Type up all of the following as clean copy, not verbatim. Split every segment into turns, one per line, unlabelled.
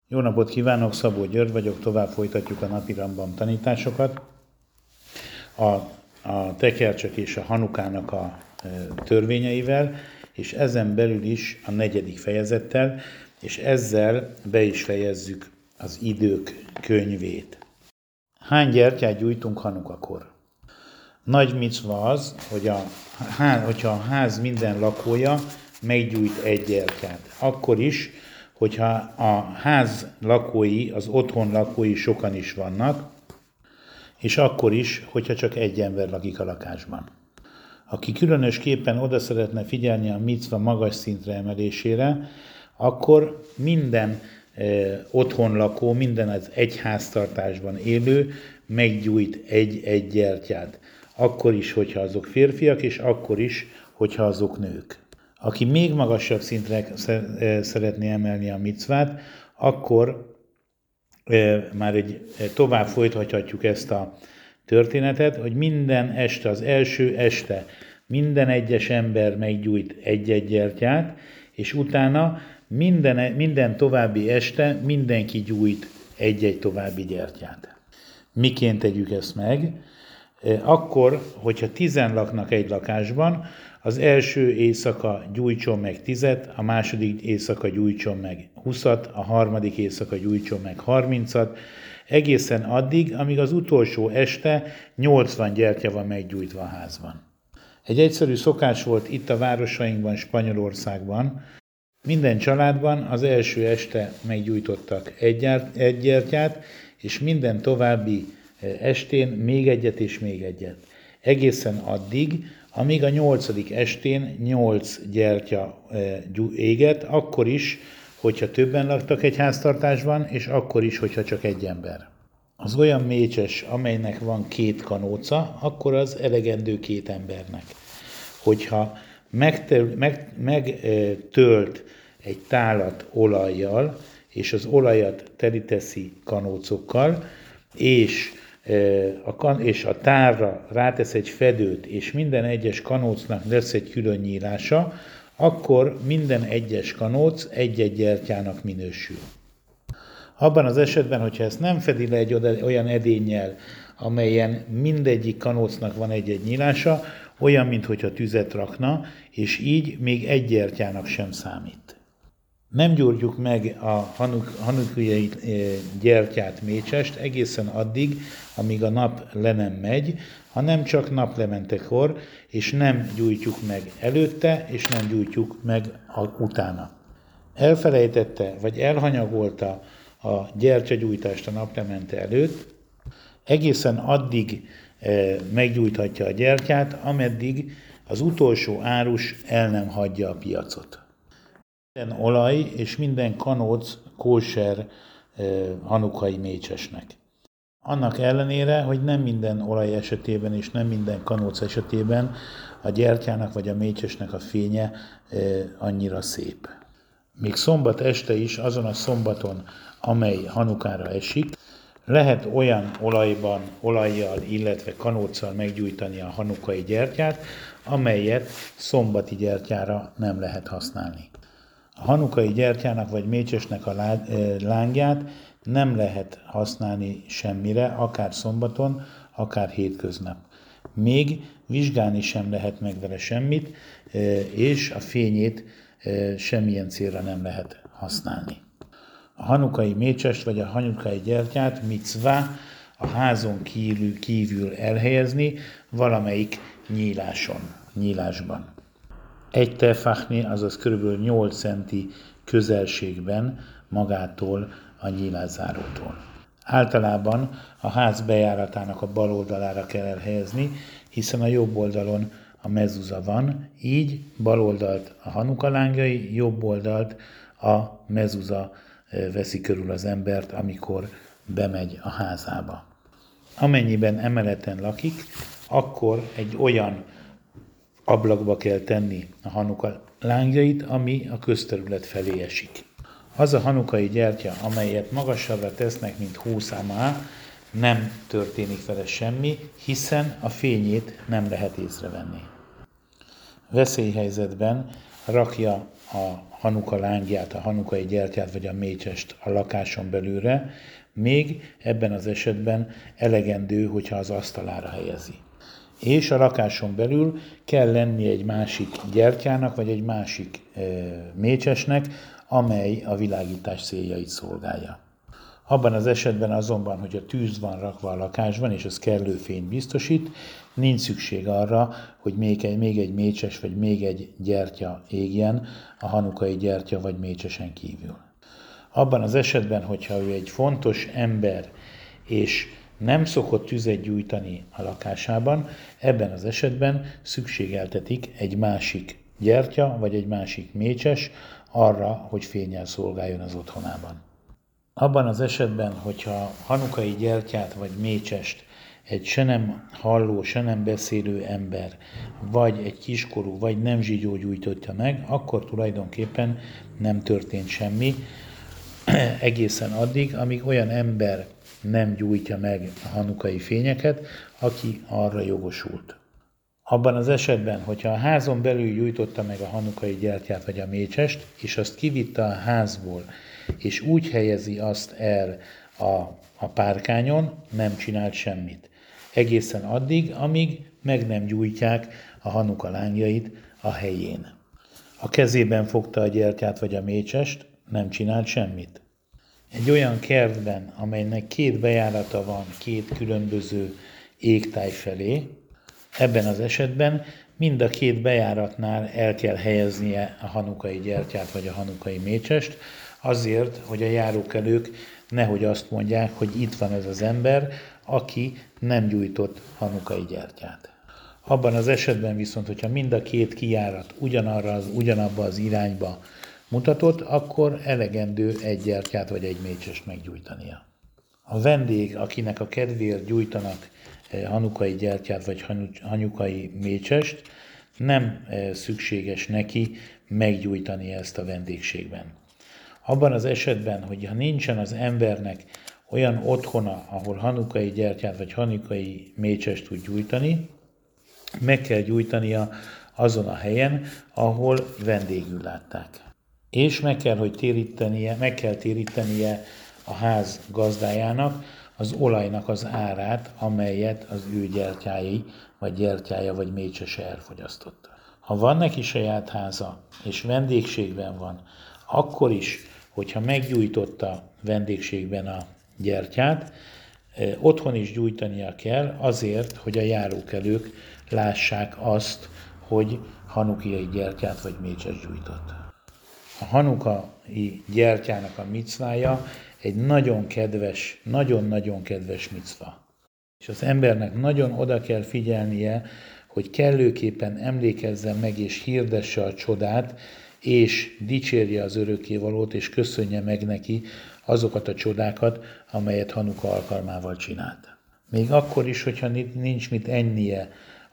Jó napot kívánok, Szabó György vagyok, tovább folytatjuk a napi Rambam tanításokat. A tekercsek és a Hanukának a törvényeivel, és ezen belül is a 4. fejezettel, és ezzel be is fejezzük az idők könyvét. Hány gyertyát gyújtunk Hanukakor? Nagy micva az, hogyha a ház minden lakója meggyújt egy gyertyát. Akkor is, hogyha a ház lakói, az otthon lakói sokan is vannak, és akkor is, hogyha csak egy ember lakik a lakásban. Aki különösképpen oda szeretne figyelni a micva magas szintre emelésére, akkor minden otthon lakó, minden az egy háztartásban élő meggyújt egy gyertyát. Akkor is, hogyha azok férfiak, és akkor is, hogyha azok nők. Aki még magasabb szintre szeretné emelni a micvát, akkor már tovább folytathatjuk ezt a történetet, hogy minden este, az első este minden egyes ember meggyújt egy gyertyát, és utána minden további este mindenki gyújt egy további gyertyát. Miként tegyük ezt meg? Akkor, hogyha 10 laknak egy lakásban, az első éjszaka gyújtson meg 10, a második éjszaka gyújtson meg 20, a harmadik éjszaka gyújtson meg 30, egészen addig, amíg az utolsó este 80 gyertya van meggyújtva a házban. Egy egyszerű szokás volt itt a városainkban, Spanyolországban. Minden családban az első este meggyújtottak egy gyertyát, és minden további estén még egyet és még egyet. Egészen addig, amíg a 8. estén 8 gyertya égett, akkor is, hogyha többen laktak egy háztartásban, és akkor is, hogyha csak egy ember. Az olyan mécses, amelynek van 2 kanóca, akkor az elegendő 2 embernek. Hogyha megtölt egy tálat olajjal, és az olajat teliteszi kanócokkal, és a tárra rátesz egy fedőt, és minden egyes kanócnak lesz egy külön nyílása, akkor minden egyes kanóc egy gyertyának minősül. Abban az esetben, hogyha ezt nem fedi le egy olyan edénnyel, amelyen mindegyik kanócnak van egy nyílása, olyan, mintha tüzet rakna, és így még egy gyertyának sem számít. Nem gyújtjuk meg a hanukai gyertyát, mécsest egészen addig, amíg a nap le nem megy, hanem csak naplementekor, és nem gyújtjuk meg előtte, és nem gyújtjuk meg utána. Elfelejtette, vagy elhanyagolta a gyertyagyújtást a naplemente előtt, egészen addig meggyújthatja a gyertyát, ameddig az utolsó árus el nem hagyja a piacot. Minden olaj és minden kanóc kóser hanukai mécsesnek. Annak ellenére, hogy nem minden olaj esetében és nem minden kanóc esetében a gyertyának vagy a mécsesnek a fénye annyira szép. Még szombat este is, azon a szombaton, amely Hanukára esik, lehet olyan olajjal, illetve kanóccal meggyújtani a hanukai gyertyát, amelyet szombati gyertyára nem lehet használni. A hanukai gyertyának vagy mécsesnek a lángját nem lehet használni semmire, akár szombaton, akár hétköznap. Még vizsgálni sem lehet meg vele semmit, és a fényét semmilyen célra nem lehet használni. A hanukai mécsest vagy a hanukai gyertyát micvá a házon kívül elhelyezni valamelyik nyílásban. Egy tefachni, azaz kb. 8 centi közelségben magától a nyílászárótól. Általában a ház bejáratának a bal oldalára kell elhelyezni, hiszen a jobb oldalon a mezuza van, így bal oldalt a hanuka lángjai, jobb oldalt a mezuza veszi körül az embert, amikor bemegy a házába. Amennyiben emeleten lakik, akkor egy olyan ablakba kell tenni a hanuka lángjait, ami a közterület felé esik. Az a hanukai gyertya, amelyet magasabbra tesznek, mint 20 amá, nem történik vele semmi, hiszen a fényét nem lehet észrevenni. Veszélyhelyzetben rakja a hanuka lángját, a hanukai gyertyát vagy a mécsest a lakáson belülre, még ebben az esetben elegendő, hogyha az asztalára helyezi. És a lakáson belül kell lenni egy másik gyertyának, vagy egy másik mécsesnek, amely a világítás céljait szolgálja. Abban az esetben azonban, hogy a tűz van rakva a lakásban, és az kellő fényt biztosít, nincs szükség arra, hogy még egy mécses vagy még egy gyertya égjen a hanukai gyertya vagy mécsesen kívül. Abban az esetben, hogyha ő egy fontos ember, és nem szokott tüzet gyújtani a lakásában, ebben az esetben szükségeltetik egy másik gyertya vagy egy másik mécses arra, hogy fénnyel szolgáljon az otthonában. Abban az esetben, hogyha hanukai gyertyát vagy mécsest egy se nem halló, se nem beszélő ember, vagy egy kiskorú, vagy nem zsigyó gyújtotta meg, akkor tulajdonképpen nem történt semmi, egészen addig, amíg olyan ember nem gyújtja meg a hanukai fényeket, aki arra jogosult. Abban az esetben, hogyha a házon belül gyújtotta meg a hanukai gyertyát vagy a mécsest, és azt kivitte a házból, és úgy helyezi azt el a párkányon, nem csinált semmit. Egészen addig, amíg meg nem gyújtják a hanuka lángjait a helyén. A kezében fogta a gyertyát vagy a mécsest, nem csinált semmit. Egy olyan kertben, amelynek 2 bejárata van 2 különböző égtáj felé, ebben az esetben mind a 2 bejáratnál el kell helyeznie a hanukai gyertyát vagy a hanukai mécsest, azért, hogy a járókelők nehogy azt mondják, hogy itt van ez az ember, aki nem gyújtott hanukai gyertyát. Abban az esetben viszont, hogyha mind a 2 kijárat ugyanabba az irányba mutatott, akkor elegendő egy gyertyát vagy egy mécsest meggyújtania. A vendég, akinek a kedvéért gyújtanak hanukai gyertyát vagy hanukai mécsest, nem szükséges neki meggyújtani ezt a vendégségben. Abban az esetben, hogyha nincsen az embernek olyan otthona, ahol hanukai gyertyát vagy hanukai mécsest tud gyújtani, meg kell gyújtania azon a helyen, ahol vendégül látták. És meg kell térítenie a ház gazdájának az olajnak az árát, amelyet az ő gyertyája vagy mécsese elfogyasztotta. Ha van neki saját háza, és vendégségben van, akkor is, hogyha meggyújtotta vendégségben a gyertyát, otthon is gyújtania kell azért, hogy a járókelők lássák azt, hogy hanukai gyertyát vagy mécses gyújtott. A hanukai gyertyának a micvája egy nagyon-nagyon kedves micva. És az embernek nagyon oda kell figyelnie, hogy kellőképpen emlékezzen meg és hirdesse a csodát, és dicsérje az örökkévalót, és köszönje meg neki azokat a csodákat, amelyet Hanuka alkalmával csinált. Még akkor is, hogyha nincs mit ennie,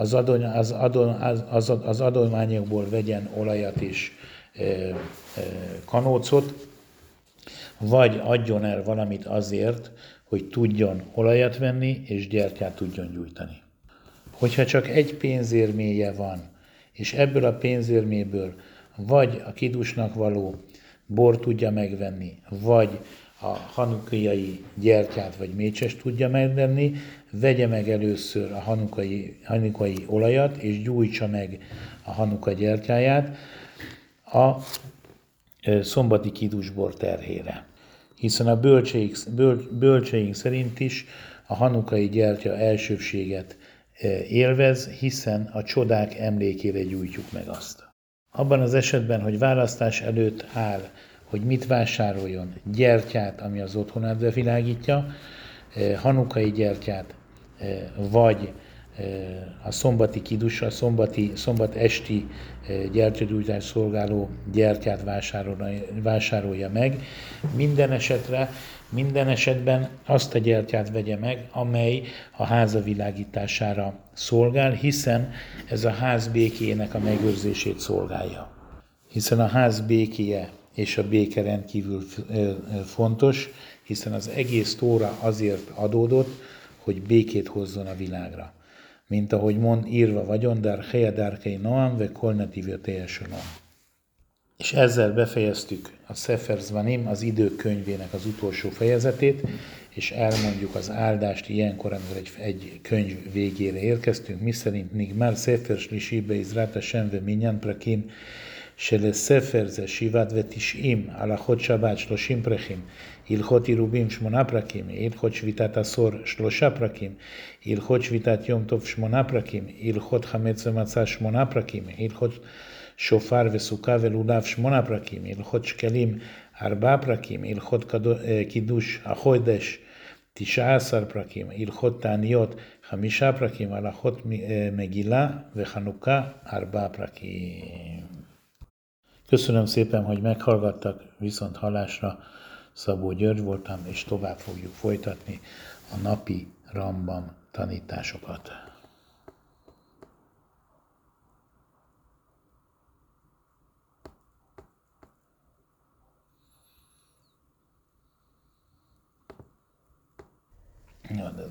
az adományokból vegyen olajat és kanócot, vagy adjon el valamit azért, hogy tudjon olajat venni, és gyertyát tudjon gyújtani. Hogyha csak egy pénzérméje van, és ebből a pénzérméből vagy a kidusnak való bort tudja megvenni, vagy a hanukai gyertyát vagy mécsest tudja megvenni, vegye meg először a hanukai olajat, és gyújtsa meg a hanuka gyertyáját a szombati kidusbor terhére. Hiszen a bölcseink szerint is a hanukai gyertya elsőbséget élvez, hiszen a csodák emlékére gyújtjuk meg azt. Abban az esetben, hogy választás előtt áll, hogy mit vásároljon, gyertyát, ami az otthonát bevilágítja, hanukai gyertyát, vagy a szombati kidus, a szombat esti gyertyagyújtás szolgáló gyertyát vásárolja meg. Minden esetben azt a gyertyát vegye meg, amely a háza világítására szolgál, hiszen ez a ház békéjének a megőrzését szolgálja. Hiszen a ház békéje és a béke rendkívül fontos, hiszen az egész Tóra azért adódott, hogy békét hozzon a világra. Mint ahogy írva vagyon, dar heja darkei noam ve kolnatív jötélyesülöm. És ezzel befejeztük a Sefer Zvanim, az idők könyvének az utolsó fejezetét, és elmondjuk az áldást ilyenkor, amikor egy könyv végére érkeztünk, miszerint Nigmar Sefer Shlishi Be'izrat Hashem Ve'minyan Prakim שלספר זה 97 הלכות שבת 30 פרקים, הלכות עירובין 8 פרקים, הלכות שביתת עשור 3 פרקים, הלכות שביתת יום טוב 8 פרקים, הלכות חמץ ומצה 8 פרקים, הלכות שופר וסוכה ולולב 8 פרקים, הלכות שקלים 4 פרקים, הלכות קידוש החודש 19 פרקים, הלכות תעניות 5 פרקים, הלכות מגילה וחנוכה 4 פרקים. Köszönöm szépen, hogy meghallgattak, viszont hallásra. Szabó György voltam, és tovább fogjuk folytatni a napi Rambam tanításokat. Ja, de